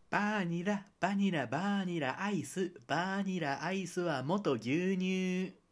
バニラ、バニラ、バニラアイス。バニラアイスは元牛乳。